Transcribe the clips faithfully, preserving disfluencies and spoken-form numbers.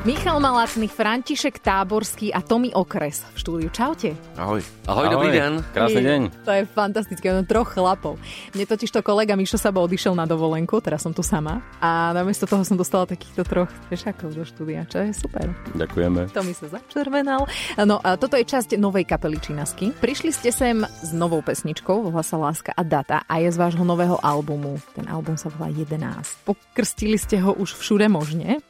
Michal Malacný, František Táborský a Tomi Okres v štúdiu. Čaute. Ahoj. Ahoj, Ahoj, dobrý deň. Krásny deň. To je fantastické, no troch chlapov. Mne totiž to kolega Mišo Sabo odišiel na dovolenku, teraz som tu sama a namiesto toho som dostala takýchto troch fešákov do štúdia, čo je super. Ďakujeme. Tomi sa začervenal. No a toto je časť novej kapely Činasky. Prišli ste sem s novou pesničkou, volá sa Láska a data a je z vášho nového albumu. Ten album sa volá jedenásť. Pokrstili ste ho už všude možne?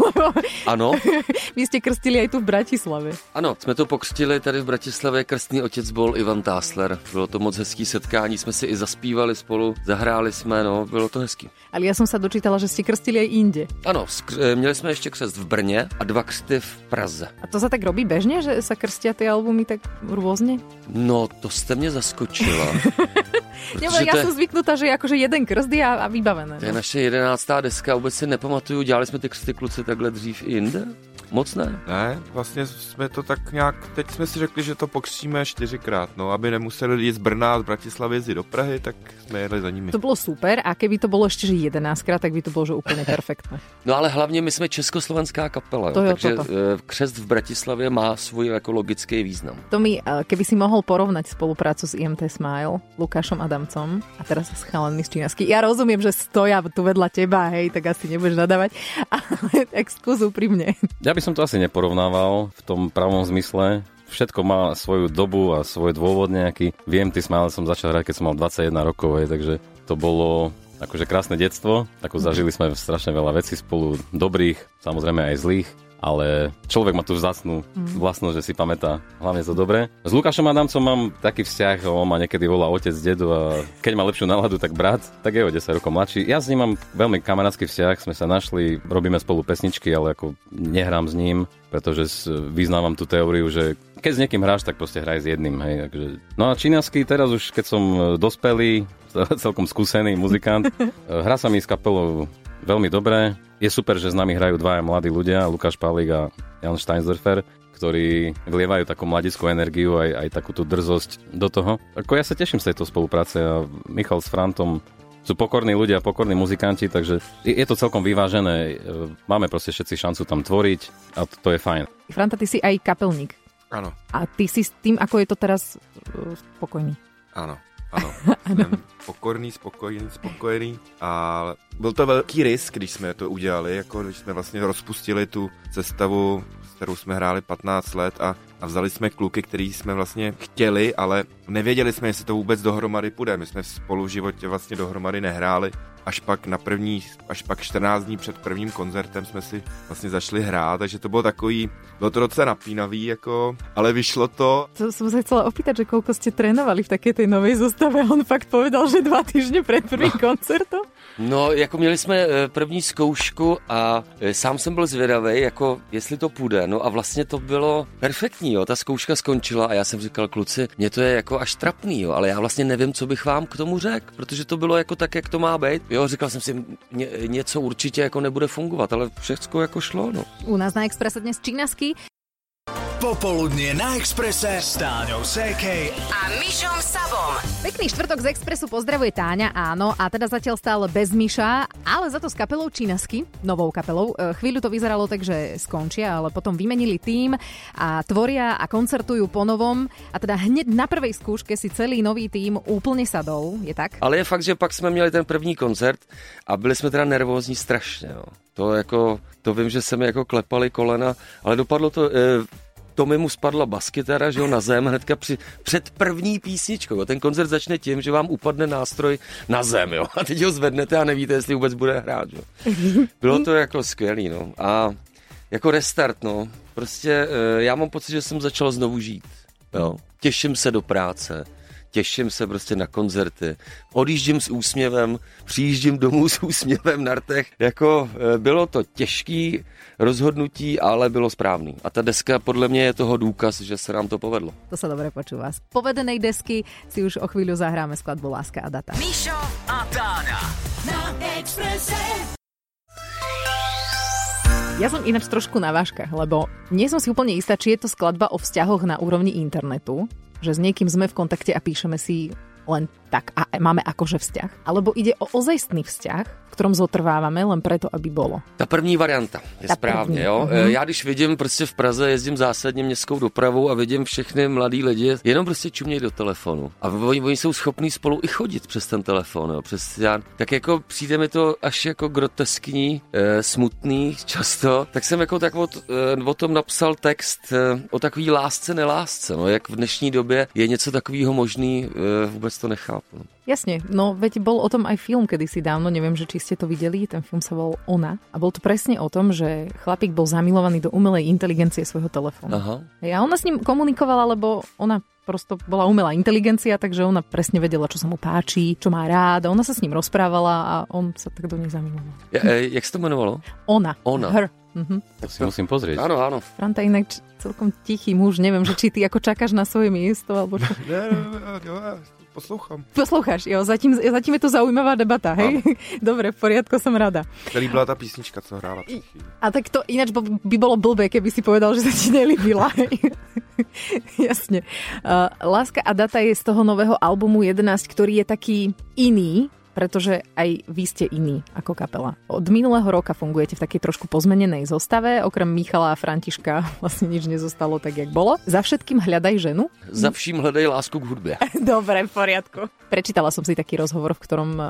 Ano. Vy ste krstili aj tu v Bratislave. Ano, jsme to pokřtili tady v Bratislavě. Krstný otec byl Ivan Tásler. Bylo to moc hezký setkání, jsme si i zaspívali spolu, zahráli jsme, no, bylo to hezký. Ale ja som sa dočítala, že ste krstili aj inde. Ano, skr- měli jsme ještě křest v Brně a dva křty v Praze. A to sa tak robí bežne, že sa krstia tie albumy tak rôzne? No, to jste mě zaskočila. Nebo ja som zvyknutá, že akože jeden krst je a, a vybavené. To je naše jedenáctá deska, vůbec si nepamatuju, dělali jsme ty křty kluci takhle dřív i jinde? Moc ne? Ne, vlastně jsme to tak nějak, teď jsme si řekli, že to pokřtíme čtyřikrát, no, aby nemuseli jít z Brna, z Bratislavy jezdit do Prahy, tak jsme jeli za nimi. To bylo super a keby to bylo ještě že jedenáctkrát, tak by to bylo že úplně perfektné. No ale hlavně my jsme československá kapela, to jo, takže toto. křest v Bratislavě má svůj ekologický význam. Tomi, keby si mohol porovnať spoluprácu s í em té Smile, Lukášom Adamcom a teraz s chalanmi z Činasky. Ja rozumiem, že stoja tu vedľa teba, hej, tak asi nebudeš nadávať, ale tak skús úprimne. Ja by som to asi neporovnával v tom pravom zmysle. Všetko má svoju dobu a svoj dôvod nejaký. Viem, ty Smile som začal hrať, keď som mal dvadsaťjeden rokov, hej, takže to bolo akože krásne detstvo. Ako zažili sme strašne veľa vecí spolu, dobrých, samozrejme aj zlých. Ale človek má tú vzácnu vlastnosť, že si pamätá hlavne to dobré. S Lukášom Adamcom mám taký vzťah, on ma niekedy volá otec, dedu a keď má lepšiu náladu, tak brat, tak je o desať rokov mladší. Ja s ním mám veľmi kamarátsky vzťah, sme sa našli, robíme spolu pesničky, ale ako nehrám s ním, pretože vyznávam tú teóriu, že keď s niekým hráš, tak proste hraj s jedným. Hej. Takže... No a Činasky, teraz už keď som dospelý, celkom skúsený muzikant, hrá sa mi s kapelou veľmi dobré. Je super, že s nami hrajú dvaja mladí ľudia, Lukáš Pavlík a Jan Steinsdorfer, ktorí vlievajú takú mladickú energiu, aj, aj takú tú drzosť do toho. Ako ja sa teším z tejto spolupráce a Michal s Frantom sú pokorní ľudia, pokorní muzikanti, takže je to celkom vyvážené. Máme proste všetci šancu tam tvoriť a to, to je fajn. Franta, ty si aj kapelník. Áno. A ty si s tým, ako je to teraz, spokojný. Áno. Ano, jsem pokorný, spokojený, spokojený a byl to velký risk, když jsme to udělali, jako když jsme vlastně rozpustili tu sestavu, s kterou jsme hráli patnáct let a, a vzali jsme kluky, který jsme vlastně chtěli, ale nevěděli jsme, jestli to vůbec dohromady půjde. My jsme spolu v životě vlastně dohromady nehráli. Až pak na první, až pak čtrnáct dní před prvním koncertem jsme si vlastně začali hrát, takže to bylo takový, bylo to docela napínavý, jako, ale vyšlo to. To som sa chcela opýtať, že koľko ste trénovali v takej tej novej zostave, on fakt povedal, že dva týždne pred prvým no. koncertom. No, jako měli jsme první zkoušku a sám jsem byl zvědavý, jako jestli to půjde, no a vlastně to bylo perfektní, jo, ta zkouška skončila a já jsem říkal, kluci, mě to je jako až trapný, jo, ale já vlastně nevím, co bych vám k tomu řekl, protože to bylo jako tak, jak to má být. Jo, říkal jsem si, ně, něco určitě jako nebude fungovat, ale všechno jako šlo, no. U nás na Expresse dnes Činasky. Popoludnie na Expresse s Táňou Sékej a Mišom Sabom. Pekný štvrtok z Expressu pozdravuje Táňa, áno, a teda zatiaľ stále bez Miša, ale za to s kapelou Činasky, novou kapelou. Chvíľu to vyzeralo tak, že skončia, ale potom vymenili tím a tvoria a koncertujú po novom. A teda hneď na prvej skúške si celý nový tím úplne sadol, je tak? Ale je fakt, že pak jsme měli ten první koncert a byli jsme teda nervózní strašně, jo. To jako, to vím, že se mi jako klepali kolena, ale dopadlo to... E, Tomi mu spadla baskytara, že jo, na zem hnedka při, před první písničkou. Ten koncert začne tím, že vám upadne nástroj na zem, jo. A teď ho zvednete a nevíte, jestli vůbec bude hrát, jo. Bylo to jako skvělý, no. A jako restart, no. Prostě já mám pocit, že jsem začal znovu žít, jo. Těším se do práce. Těším se prostě na koncerty. Odjíždím s úsměvem, přijíždím domů s úsměvem na rtech. Jako bylo to těžký rozhodnutí, ale bylo správný. A ta deska podle mě je toho důkaz, že se nám to povedlo. To sa dobre počúva. Z povedenej desky si už o chvíľu zahráme skladbu Láska a data. Mišo a Táňa na Expresse. Ja som ináč trošku na vážkach, lebo nie som si úplne istá, či je to skladba o vzťahoch na úrovni internetu, že s niekým sme v kontakte a píšeme si len tak a máme akože vzťah, alebo ide o ozajstný vzťah, v ktorom zotrvávame len preto, aby bolo. Ta první varianta je Ta správně, první. jo. Uh-huh. Já když vidím prostě v Praze, jezdím zásadně městskou dopravou a vidím všechny mladý lidi, jenom prostě čumějí do telefonu. A oni, oni jsou schopní spolu i chodit přes ten telefon, jo. Přes, já, tak jako přijde mi to až jako groteskní, e, smutný často, tak jsem jako tak o, e, o tom napsal text e, o takový lásce, nelásce, no. Jak v dnešní době je něco takového možný, e, vůbec to nechápu. Jasne, no veď bol o tom aj film kedysi dávno, neviem, že či ste to videli, ten film sa volal Ona a bol to presne o tom, že chlapík bol zamilovaný do umelej inteligencie svojho telefónu. Aha. A ona s ním komunikovala, lebo ona prosto bola umelá inteligencia, takže ona presne vedela, čo sa mu páči, čo má rád a ona sa s ním rozprávala a on sa tak do nej zamiloval. Ja, e, jak se to jmenovalo? Ona. Ona. Her. Mhm. To si musím pozrieť. Áno, áno. Franta inak č- celkom tichý muž, neviem, že či ty ako čakáš na svoje miesto, alebo čo. Ne, ne, ne, ne, poslouchám. Posloucháš, jo, zatím, zatím je to zaujímavá debata, hej? Dobre, v poriadku, som rada. Celý byla ta písnička, co hrála před chvíli. A tak to ináč by bolo blbé, keby si povedal, že sa ti nelíbila. Jasne. Uh, Láska a data je z toho nového albumu jedenásť, ktorý je taký iný, pretože aj vy ste iní ako kapela. Od minulého roka fungujete v takej trošku pozmenenej zostave, okrem Michala a Františka vlastne nič nezostalo tak, jak bolo. Za všetkým hľadaj ženu. Za vším hledej lásku k hudbě. Dobre, v poriadku. Prečítala som si taký rozhovor, v ktorom uh,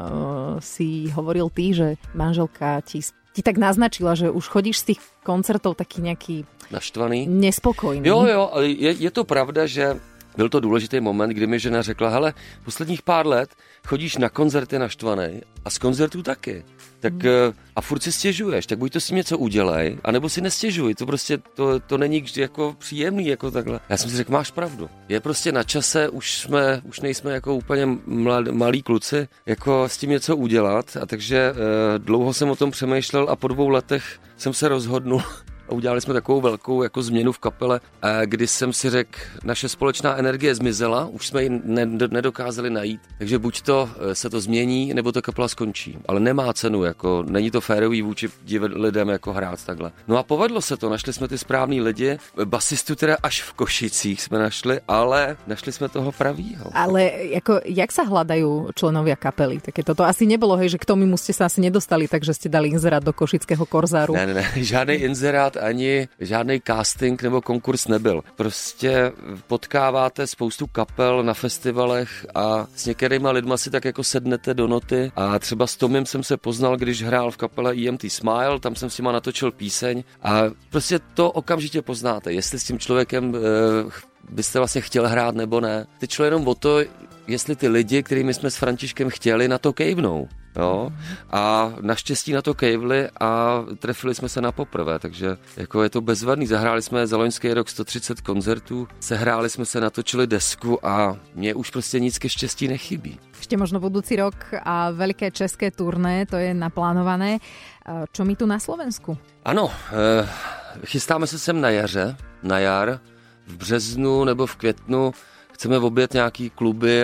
si hovoril ty, že manželka ti, ti tak naznačila, že už chodíš z tých koncertov taký nejaký Naštvaný. nespokojný. Jo, jo, ale je, je to pravda, že byl to důležitý moment, kdy mi žena řekla, hele, posledních pár let chodíš na koncerty naštvanej a z koncertů taky. Tak hmm. a furt si stěžuješ, tak buď to s tím něco udělej, anebo si nestěžuj. To prostě, to, to není jako příjemný, jako takhle. Já jsem si řekl, máš pravdu. Je prostě na čase, už jsme, už nejsme jako úplně mlad, malí kluci, jako s tím něco udělat. A takže eh, dlouho jsem o tom přemýšlel a po dvou letech jsem se rozhodnul, a udělali jsme takovou velkou jako změnu v kapele, kdy jsem si řekl, naše společná energie zmizela, už jsme ji nedokázali najít, takže buď to se to změní, nebo to kapela skončí. Ale nemá cenu, jako není to férový vůči lidem jako hrát takhle. No a povedlo se to, našli jsme ty správný lidi, basistu teda až v Košicích jsme našli, ale našli jsme toho pravýho. Ale jako, jak sa hľadajú členovia kapely? Také toto asi nebolo, hej, že k tomu ste sa asi nedostali, takže ste dali inzerát do košického Korzáru. Ne, ne, ne, žádný inzerát ani žádný casting nebo konkurs nebyl. Prostě potkáváte spoustu kapel na festivalech a s některýma lidma si tak jako sednete do noty a třeba s Tomem jsem se poznal, když hrál v kapele E M T Smile, tam jsem s nima natočil píseň a prostě to okamžitě poznáte, jestli s tím člověkem e, byste vlastně chtěl hrát nebo ne. Teď šlo jenom o to, jestli ty lidi, kterými jsme s Františkem chtěli, na to kejvnou. Jo? A naštěstí na to kejvli a trefili jsme se na poprvé, takže jako je to bezvadný. Zahráli jsme za loňský rok sto třicet koncertů, sehráli jsme se, natočili desku a mně už prostě nic ke štěstí nechybí. Ešte možno budúci rok a veľké české turné, to je naplánované. Čo my tu na Slovensku? Ano, e, chystáme se sem na jaře, na jar, v březnu nebo v květnu. Chceme objet nějaký kluby,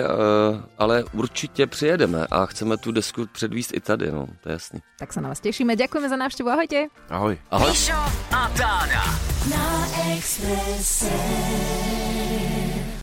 ale určitě přijedeme a chceme tu desku předvíst i tady, no, to je jasný. Tak sa na vás tešíme. Ďakujeme za návštevu. Ahojte. Ahoj. Ahoj. Mišo a Táňa. Na Expresse.